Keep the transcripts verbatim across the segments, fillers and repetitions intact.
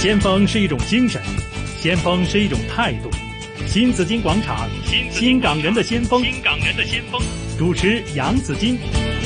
先鋒是一種精神，先鋒是一種態度。新紫荊廣場，新港人的先鋒，新港人的先鋒。主持楊紫荊。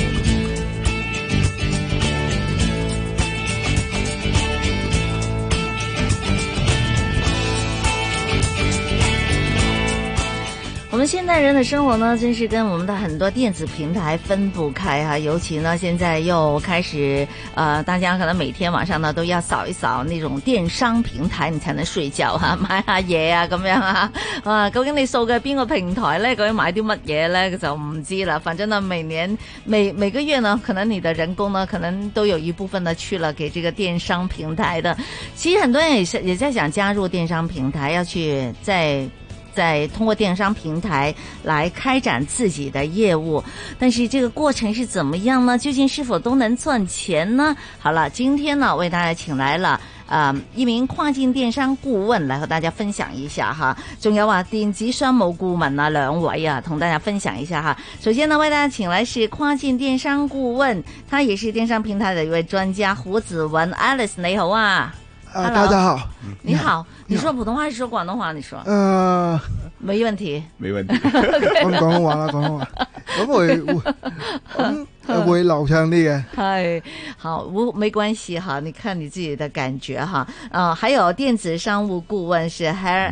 我们现代人的生活呢，真是跟我们的很多电子平台分不开哈、啊。尤其呢，现在又開始，呃，大家可能每天晚上呢都要掃一掃那種電商平台，你才能睡覺哈、啊，買下嘢啊咁樣啊。啊，究竟你掃嘅邊個平台咧？究竟買啲乜嘢咧？就唔知啦。反正呢，每年每每個月呢，可能你的人工呢，可能都有一部分呢去了給這個電商平台的。其實很多人也是也在想加入電商平台，要去在。在通過電商平台來開展自己的業務，但是這個過程是怎麼樣呢？究竟是否都能賺錢呢？好了，今天呢為大家請來了呃一名跨境電商顧問來和大家分享一下哈，仲有啊電子商務顧問啊兩位啊同大家分享一下哈。首先呢為大家請來是跨境電商顧問，他也是電商平台的一位專家胡子文 Alice， 你好啊。 啊，大家好， 你好，你說普通話還是說廣東話？你說， 呃， 沒問題， 沒問題，講廣東話啦，廣東話，咁會會咁。會流暢啲嘅， 係好，無沒關係哈，你看你自己的感覺哈。啊，還有電子商務顧問是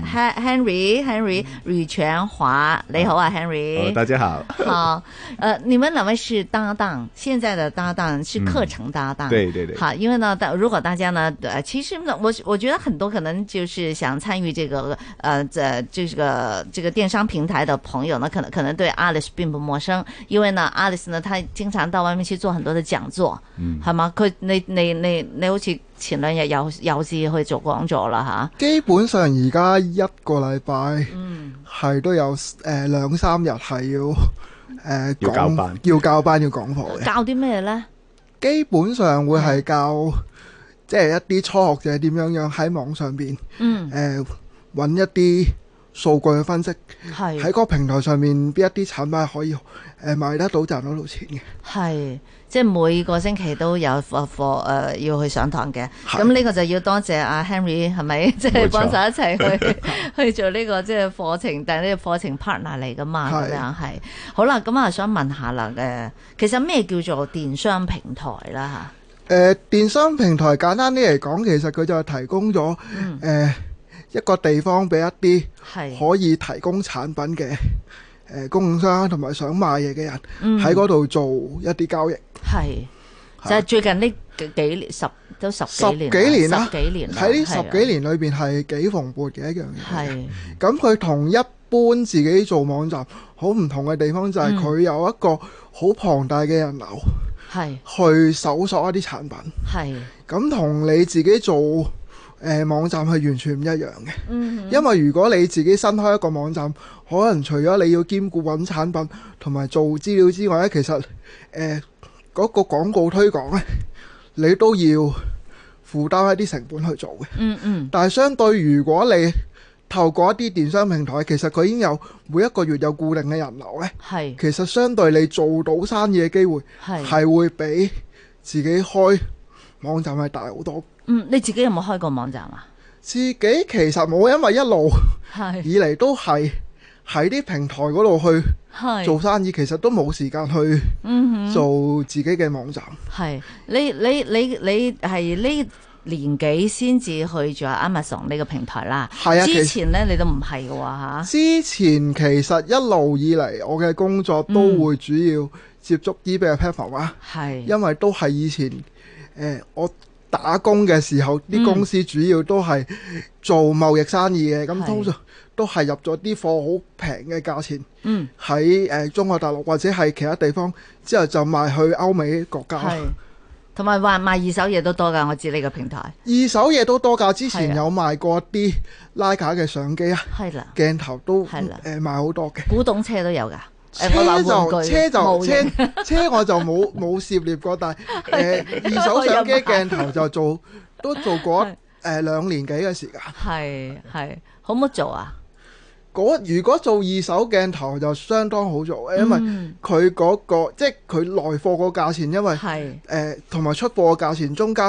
Henry Henry 呂全華，你好啊 Henry， 哦，大家好。 好，呃，你們兩位是搭檔，現在的搭檔是課程搭檔， 嗯，對對對。 好，因為呢，如果大家呢，呃，其實呢，我我覺得很多可能就是想參與這個，呃，這這個這個電商平台的朋友呢，可能可能對 Alice 並不陌生，因為呢 Alice 呢，她經常到外面去做很多的講座，嗯，係嘛？佢你你你你好似前兩日有有次去做講座啦吓。 基本上而家一個禮拜，嗯，係都有誒兩三日係要誒、呃、 要教班， 要教班要講課嘅。 教啲咩咧？基本上會係教即係一啲初學者點樣樣喺網上邊，嗯，誒揾一啲數據去分析，係喺個平台上面邊一啲產品可以誒賣得到賺得到錢嘅。係即係每個星期都有課課誒要去上堂嘅。咁呢個就要多謝阿 Henry 係咪？即係幫手一齊去去做呢個即係課程，但係呢個課程 partner 嚟噶嘛？咁樣係。好啦，咁啊想問下啦，誒，其實咩叫做電商平台啦嚇？ 誒，電商平台簡單啲嚟講，其實佢就係提供咗誒一個地方俾一啲可以提供產品嘅誒供應商同埋想買嘢嘅人喺嗰度做一啲交易。係， 就係最近呢幾年十都十幾年， 十幾年啦， 十幾年喺呢十幾年裏邊係幾蓬勃嘅一樣嘢。 係， 咁佢同一般自己做網站好唔同嘅地方就係佢有一個好龐大嘅人流，係去搜索一啲產品。係，咁同你自己做誒、呃、網站係完全唔一樣嘅。嗯，因為如果你自己新開一個網站，可能除咗你要兼顧揾產品同埋做資料之外咧，其實誒嗰、呃那個廣告推廣咧，你都要負擔一啲成本去做嘅。嗯嗯。但係相對，如果你透過一啲電商平台，其實佢已經有每一個月有固定嘅人流咧。係。其實相對你做到生意嘅機會係係會比自己開網站係大好多。 嗯，你自己有冇開過網站啊？ 自己其實冇，因為一路以嚟都係喺啲平台嗰度去做生意，其實都冇時間去做自己嘅網站。係、嗯、 你你你你係呢年幾先至去咗 Amazon 呢個平台啦？係啊，之前咧你都唔係嘅喎嚇。 之前其實一路以嚟我嘅工作都會主要接觸 eBay 嘅 platform 啊。係，因為都係以前誒、呃、我打工嘅時候，啲公司主要都係做貿易生意嘅，咁、嗯、通常都係入咗啲貨好平嘅價錢，嗯，喺誒中國大陸或者係其他地方，之後就賣去歐美國家。係， 同埋話賣二手嘢都多㗎，我知呢個平台。 二手嘢都多㗎，之前有賣過啲徠卡嘅相機啊，係啦，鏡頭都係啦，誒賣好多嘅。 古董車都有㗎。 車就車就車車我就冇冇涉獵過，但係誒、呃、二手相機鏡頭就做都做過誒、呃、兩年幾嘅時間。係係好唔好做啊？ 嗰如果做二手鏡頭就相當好做，因為佢嗰、嗰個、嗯、即係佢來貨個價錢，因為係誒同埋出貨個價錢中間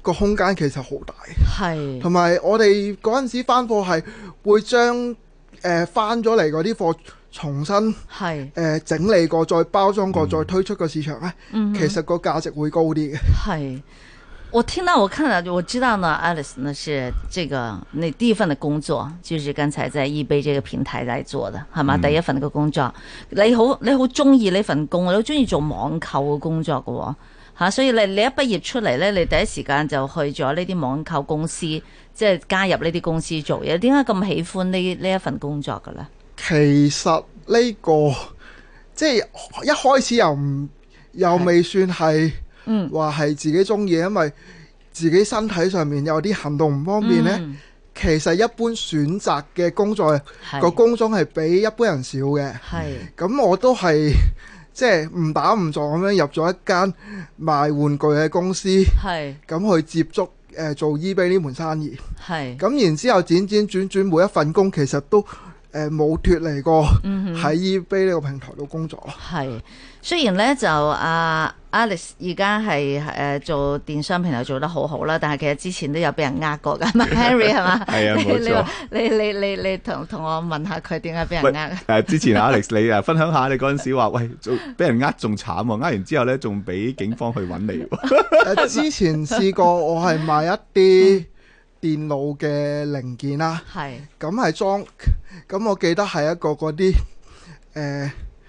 個空間其實好大， 係同埋我哋嗰陣時翻貨係會將誒翻咗嚟嗰啲貨重新係誒、呃、整理過，再包裝過，嗯、再推出個市場咧，嗯、其實個價值會高啲嘅。 係，我聽到我看到我知道呢 Alice 呢是這個你第一份的工作，就是剛才在 eBay 這個平台來做的，係嘛？嗯、第一份嘅工作，你好你好中意呢份工，你好中意做網購嘅工作嘅喎。吓、啊，所以你你一畢業出嚟咧，你第一時間就去咗呢啲網購公司，即係加入呢啲公司做嘢。點解咁喜歡呢呢一份工作嘅咧？ 其實呢、這個即係一開始又唔又未算係，嗯，話係自己中意，因為自己身體上面有啲行動唔方便咧。嗯、其實一般選擇嘅工作個工種係比一般人少嘅。係，咁我都係。即係誤打誤撞咁樣入咗一間賣玩具嘅公司，咁去接觸誒、呃、做 eBay 呢門生意，咁然之後轉轉轉轉每一份工其實都誒冇脫離過喺 eBay 呢個平台度工作咯。係， 雖然咧就阿 Alice 而家係誒做電商平台做得好好啦，但係其實之前都有俾人呃過㗎嘛，Henry 係嘛？係啊，冇錯。你你你你同同我問下佢點解俾人呃？誒， 之前 Alex 你啊分享下你嗰陣時話，喂，做俾人呃仲慘喎，呃完之後咧仲俾警方去揾你喎。 誒，之前試過我係賣一啲電腦嘅零件啦，係咁係裝，咁我記得係一個嗰啲誒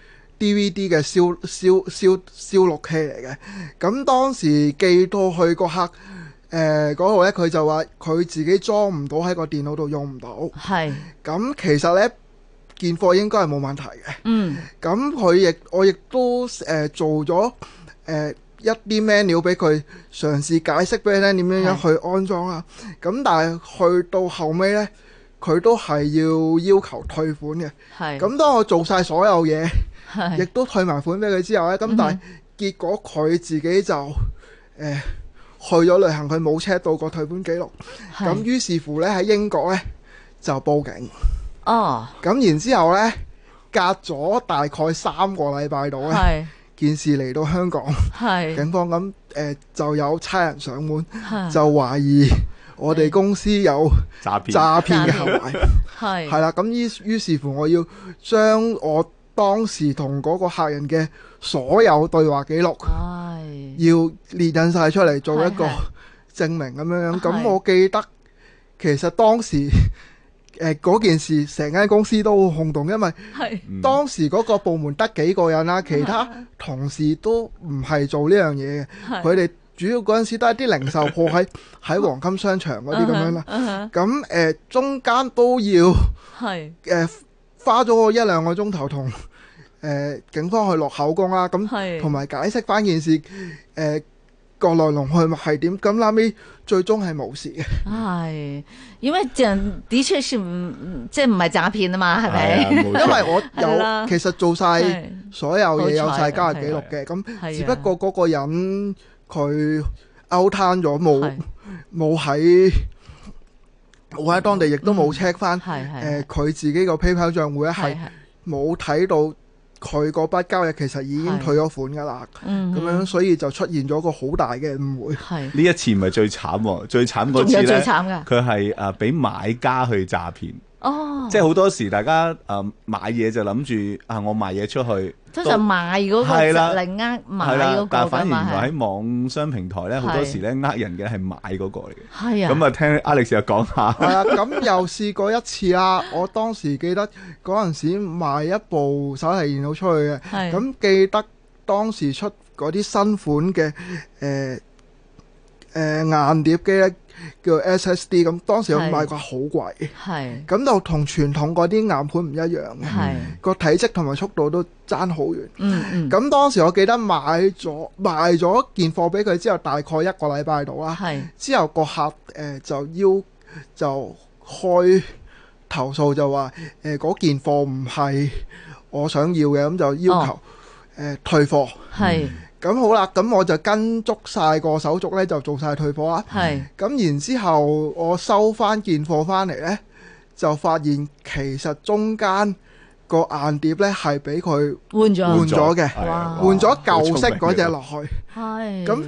D V D 嘅燒燒燒燒錄器嚟嘅，咁當時寄到去個客誒嗰度咧，佢就話佢自己裝唔到喺個電腦度用唔到，係咁其實咧件貨應該係冇問題嘅，嗯，咁佢亦我亦都誒、呃、做咗誒。呃一啲 menu 俾佢嘗試解釋俾你聽點樣樣去安裝啊，咁但係去到後尾呢，佢都係要要求退款嘅。係，咁當我做晒所有嘢，亦都退埋款俾佢之後呢，咁但係結果佢自己就誒、呃、去咗旅行，佢冇 check 到個退款記錄。咁於是乎呢，喺英國呢就報警。哦，咁然之後呢，隔咗大概三個禮拜度呢。件事嚟到香港，警方咁誒、呃、就有差人上門，就懷疑我哋公司有詐騙詐騙嘅行為，係係啦。咁於於是乎，我要將我當時同嗰個客人嘅所有對話記錄，要列印晒出嚟做一個證明咁樣樣。咁我記得其實當時。誒嗰、呃、件事成間公司都好轟動，因為當時嗰個部門得幾個人啦，其他同事都唔係做呢樣嘢嘅，佢哋主要嗰陣時都係啲零售鋪喺喺黃金商場嗰啲咁樣啦。咁誒、呃、中間都要誒、呃、花咗一兩個鐘頭同誒警方去落口供啦，咁同埋解釋翻件事誒。呃個來龍去脈係點？咁後尾最終係冇事嘅。係，因為這的確是唔即係唔係詐騙啊嘛，係咪？因為我有其實做晒所有嘢，有晒交易記錄嘅。咁只不過嗰個人佢 out 攤咗，冇冇喺冇喺當地，亦都冇 check 翻誒佢自己個 PayPal 賬戶咧，係冇睇到。佢嗰筆交易其實已經退咗款㗎啦，咁、嗯、樣所以就出現咗個好大嘅誤會。呢一次唔係最慘喎，最慘嗰次咧，佢係誒俾買家去詐騙。哦，即係好多時大家誒、呃、買嘢就諗住啊，我賣嘢出去， 通常賣嗰個嚟呃買嗰個， 但係反而原來喺網商平台咧，好多時咧呃人嘅係買嗰個嚟嘅。 係啊， 咁啊聽 Alex 又講下。 係啊，咁又試過一次啦。我當時記得嗰陣時賣一部手提電腦出去嘅，咁記得當時出嗰啲新款嘅誒誒硬碟機咧。叫 S S D， 咁當時我買過好貴，係咁就同傳統嗰啲硬盤唔一樣嘅，係個體積同埋速度都爭好遠。嗯嗯，咁當時我記得買咗賣咗件貨俾佢之後，大概一個禮拜到啦，係之後個客誒、呃、就要就開投訴，就話誒嗰件貨唔係我想要嘅，咁就要求誒、哦呃、退貨，係。咁好啦，咁我就跟足晒個手續咧，就做晒退貨啦。係。咁然之後，我收翻件貨翻嚟咧，就發現其實中間個硬碟咧係俾佢換咗換咗嘅，換咗舊式嗰隻落去。係。咁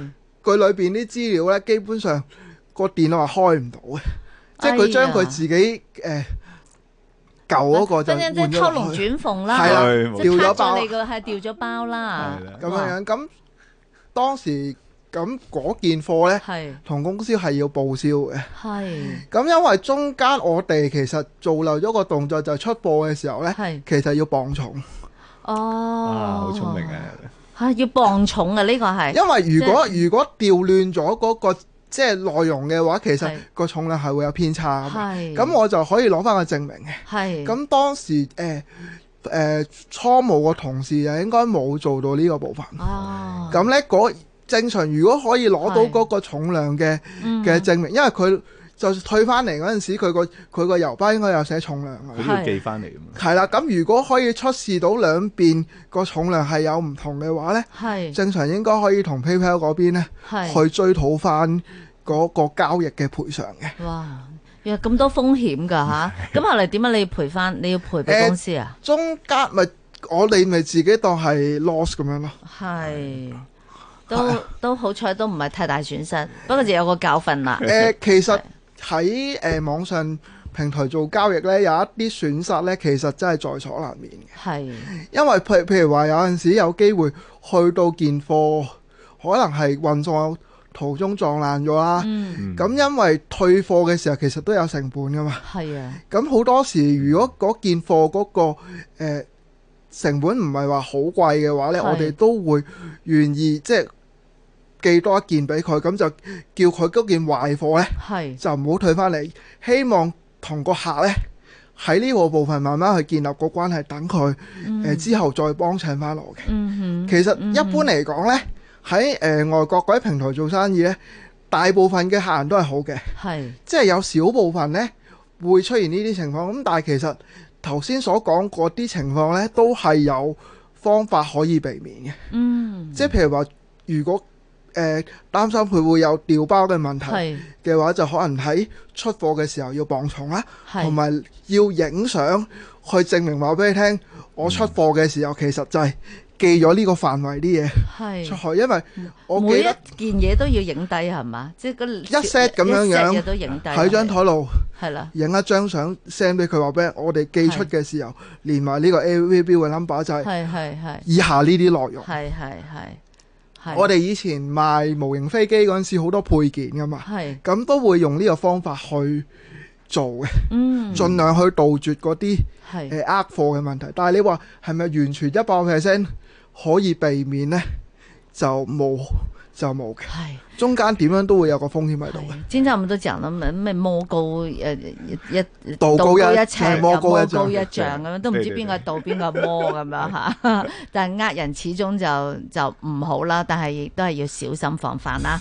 佢裏邊啲資料咧，基本上個電腦係開唔到嘅，即係佢將佢自己誒。呃舊嗰個就換咗落去， 即係偷龍轉鳳啦， 係啦，掉咗包， 係掉咗包啦， 咁樣樣。咁當時咁嗰件貨咧，同公司係要報銷嘅。係。咁因為中間我哋其實做漏咗個動作，就出貨嘅時候咧，其實要磅重。 哦， 好聰明啊！ 嚇，要磅重啊！呢個係。因為如果如果調亂咗嗰個即係內容嘅話，其實個重量係會有偏差嘅。咁我就可以攞翻個證明嘅。咁當時誒誒、呃呃、初務個同事就應該冇做到呢個部分。咁咧嗰正常如果可以攞到嗰個重量嘅嘅證明，因為佢就退翻嚟嗰陣時，佢個佢個郵包應該有寫重量嘅。 佢都要寄翻嚟㗎嘛。係啦，咁如果可以出示到兩邊個重量係有唔同嘅話咧，正常應該可以同 PayPal 嗰邊咧去追討翻嗰個交易嘅賠償嘅。 哇，有咁多風險㗎吓，咁後嚟點解你要賠翻？你要賠俾公司啊？ 呃、中間咪我哋咪自己當係 loss 咁樣咯。 係，都都好彩，都唔係太大損失，不過就有個教訓啦。 誒、呃，其實喺誒、呃、網上平台做交易咧，有一啲損失咧，其實真係在所難免嘅。係，因為譬譬如話有陣時有機會去到件貨，可能係運送途中撞爛咗啦。咁、嗯、因為退貨嘅時候，其實都有成本噶嘛。係啊。咁好多時，如果嗰件貨嗰、嗰個、呃、成本唔係話好貴嘅話咧，我哋都會願意即係寄多一件俾佢，咁就叫佢嗰件壞貨咧，就唔好退翻嚟。希望同個客咧喺呢個部分慢慢去建立個關係，等佢、嗯呃、之後再幫襯翻我嘅。嗯、其實一般嚟講咧。嗯喺誒、呃、外國嗰啲平台做生意咧，大部分嘅客人都係好嘅，係即係有少部分咧會出現呢啲情況。咁但係其實頭先所講嗰啲情況咧，都係有方法可以避免嘅。嗯，即係譬如話，如果誒、呃、擔心佢會有掉包嘅問題嘅話，就可能喺出貨嘅時候要磅重啦，同埋要影相去證明話俾你聽，我出貨嘅時候其實就係、是。寄咗呢個範圍啲嘢出去，因為我記得每一件嘢都要影低係嘛，即係嗰一 set 咁樣樣都影低喺張台度， 係啦， 影一張相 send 俾佢話俾我哋寄出嘅時候，連埋呢個 A V 標嘅 number 就係係係係以下呢啲內容。係係係，我哋以前賣模型飛機嗰陣時好多配件噶嘛，咁都會用呢個方法去做嘅，嗯，盡量去杜絕嗰啲誒呃貨嘅問題。但係你話係咪完全一百 percent？可以避免呢，就冇就冇嘅。係中間點樣都會有個風險喺度嘅。 今天我們都講啦，咩咩魔高誒一道高一尺， 魔高一丈咁樣，都唔知邊個道邊個魔咁樣嚇。但係呃人始終就就唔好啦，但係亦都係要小心防範啦。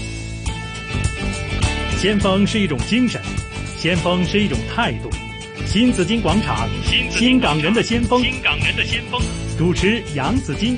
先鋒是一種精神，先鋒是一種態度。新紫荊廣場，新港人的先鋒，新港人的先鋒，主持楊紫荊。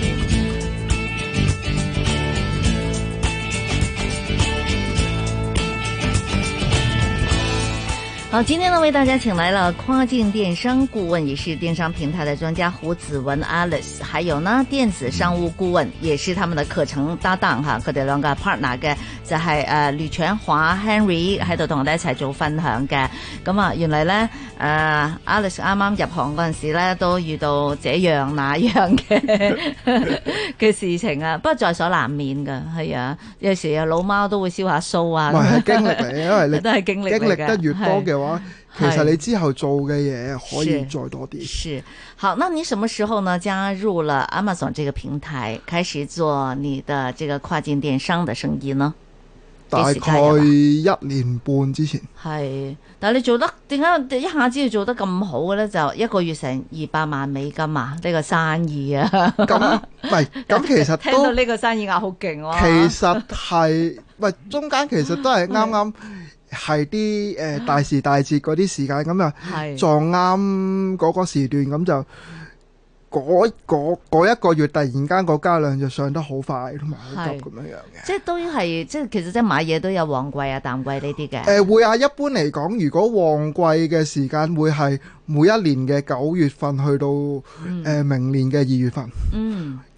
好，今天呢為大家請來了跨境電商顧問，也是電商平台的專家胡子文 Alice， 還有呢電子商務顧問，也是他們的課程搭檔哈，佢哋兩個 partner 嘅就係誒呂長華 Henry 喺度同我哋一齊做分享嘅。咁啊，原來咧誒、呃、Alice 啱啱入行嗰陣時咧，都遇到這樣那樣嘅嘅事情啊，不過在所難免噶，係啊，有時啊老貓都會燒下鬚啊， 係經歷嚟，因為你都係經歷經歷得越多嘅話，其實你之後做嘅嘢可以再多啲。 是，好，那你什麼時候呢加入了 Amazon 這個平台，開始做你的這個跨境電商的生意呢？ 大概一年半之前。 係，但係你做得點解一下子要做得咁好嘅咧？就一個月成二百萬美金啊！呢、這個生意啊， 咁唔係，咁其實都聽到呢個生意額好勁喎。 其實係，喂，中間其實都係啱啱。係啲誒大時大節嗰啲時間，咁啊撞啱嗰個時段，咁就嗰嗰嗰一個月突然間個交量就上得好快，同埋好急咁樣樣嘅。 即係都係，即係其實即係買嘢都有旺季啊、淡季呢啲嘅。誒、 呃、會啊，一般嚟講，如果旺季嘅時間會係每一年嘅九月份去到誒、嗯呃、明年嘅二月份。嗯。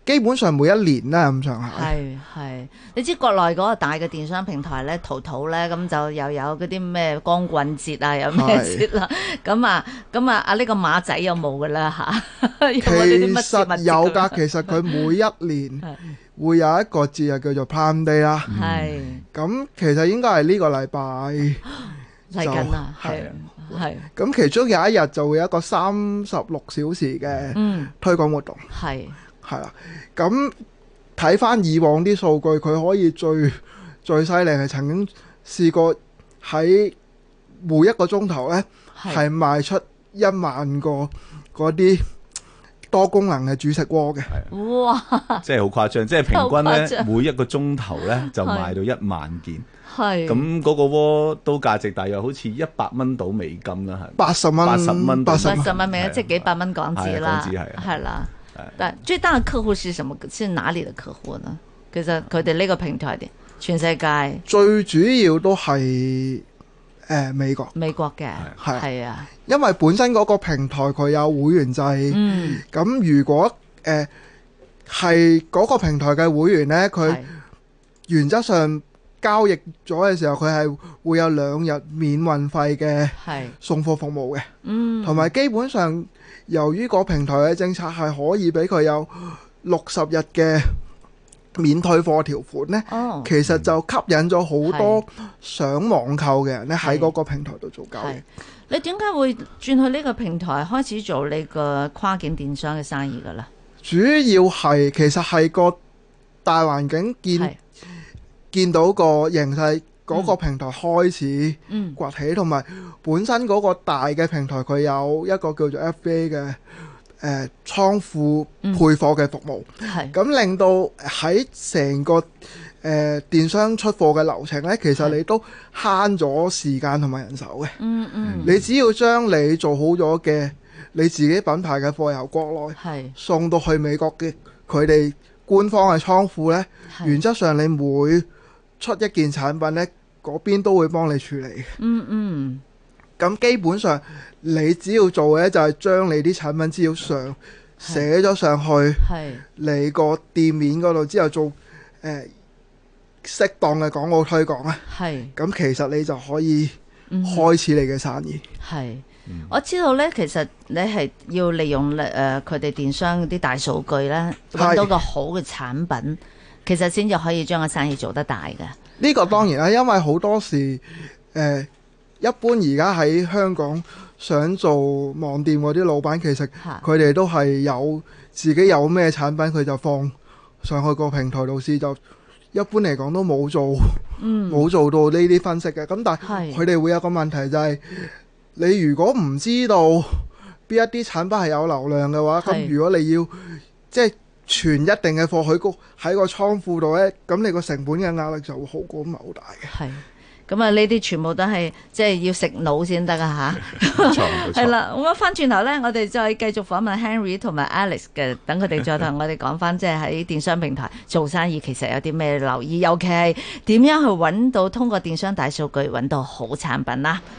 基本上每一年啦咁上下。 係係，你知國內嗰個大嘅電商平台咧，淘淘咧，咁就又有嗰啲咩光棍節啊，有咩節啦，咁啊咁啊啊呢個馬仔有冇噶啦嚇？ 其實有㗎，其實佢每一年會有一個節日叫做 Prime Day 啦。係。咁其實應該係呢個禮拜嚟緊啦，係。係， 咁其中有一日就會有一個三十六小時嘅推廣活動，係係啦。咁睇翻以往啲數據，佢可以最最犀利係曾經試過喺每一個鐘頭呢係賣出一萬個嗰啲多功能嘅煮食鍋嘅。哇！ 即係好誇張，即係平均呢每一個鐘頭呢就賣到一萬件。係咁嗰個鍋都價值大約好似一百蚊到美金啦，係八十蚊，八十蚊， 八十蚊美金，即係幾百蚊港紙啦， 港紙係係啦。但最大嘅客戶是什麼？是哪裡嘅客戶呢？其實佢哋呢個平台，全世界最主要都係誒美國， 美國嘅係係啊， 因為本身嗰個平台佢有會員制，嗯，咁如果誒係嗰個平台嘅會員呢，佢原則上交易咗嘅時候，佢係會有兩日免運費嘅送貨服務嘅，嗯，同埋基本上由於個平台嘅政策係可以俾佢有六十日嘅免退貨條款呢，哦，其實就吸引咗好多想網購嘅人咧喺嗰個平台度做交易。 你點解會轉去呢個平台開始做呢個跨境電商嘅生意㗎啦？ 主要係其實係個大環境見。見到個形勢，嗰個平台開始崛起，同埋、嗯、本身嗰個大嘅平台佢有一個叫做 F B A 嘅誒倉庫配貨嘅服務，咁、嗯、令到喺成個誒、呃、電商出貨嘅流程呢，其實你都慳咗時間同埋人手嘅。嗯嗯，你只要將你做好咗嘅你自己品牌嘅貨由國內送到去美國嘅佢哋官方嘅倉庫呢，原則上你每出一件產品呢，嗰邊都會幫你處理。嗯嗯。咁基本上，你只要做嘅就係將你啲產品資料上寫咗上去，你個店面嗰度之後做誒、呃、適當嘅廣告推廣啊。係。咁其實你就可以開始你嘅生意。係、嗯。 我知道呢，其實你係要利用誒佢哋電商啲大數據呢，揾到個好嘅產品。其實先至可以將個生意做得大嘅。 呢個當然啦，因為好多時誒、呃，一般而家喺香港想做網店嗰啲老闆，其實佢哋都係有自己有咩產品，佢就放上去個平台度試，就一般嚟講都冇做，冇、嗯、做到呢啲分析嘅。咁但係佢哋會有個問題就係、是，你如果唔知道邊一啲產品係有流量嘅話，咁如果你要即係存一定嘅貨喺個喺個倉庫度咧，咁你個成本嘅壓力就會好高，唔係好大嘅。係，咁啊呢啲全部都係即係要食腦先得啊吓。冇錯，冇錯。係啦，咁啊翻轉頭咧，我哋再繼續訪問 Henry 同埋 Alex 嘅，等佢哋再同我哋講翻，即係喺電商平台做生意其實有啲咩留意，尤其係點樣去揾到通過電商大數據揾到好產品啦。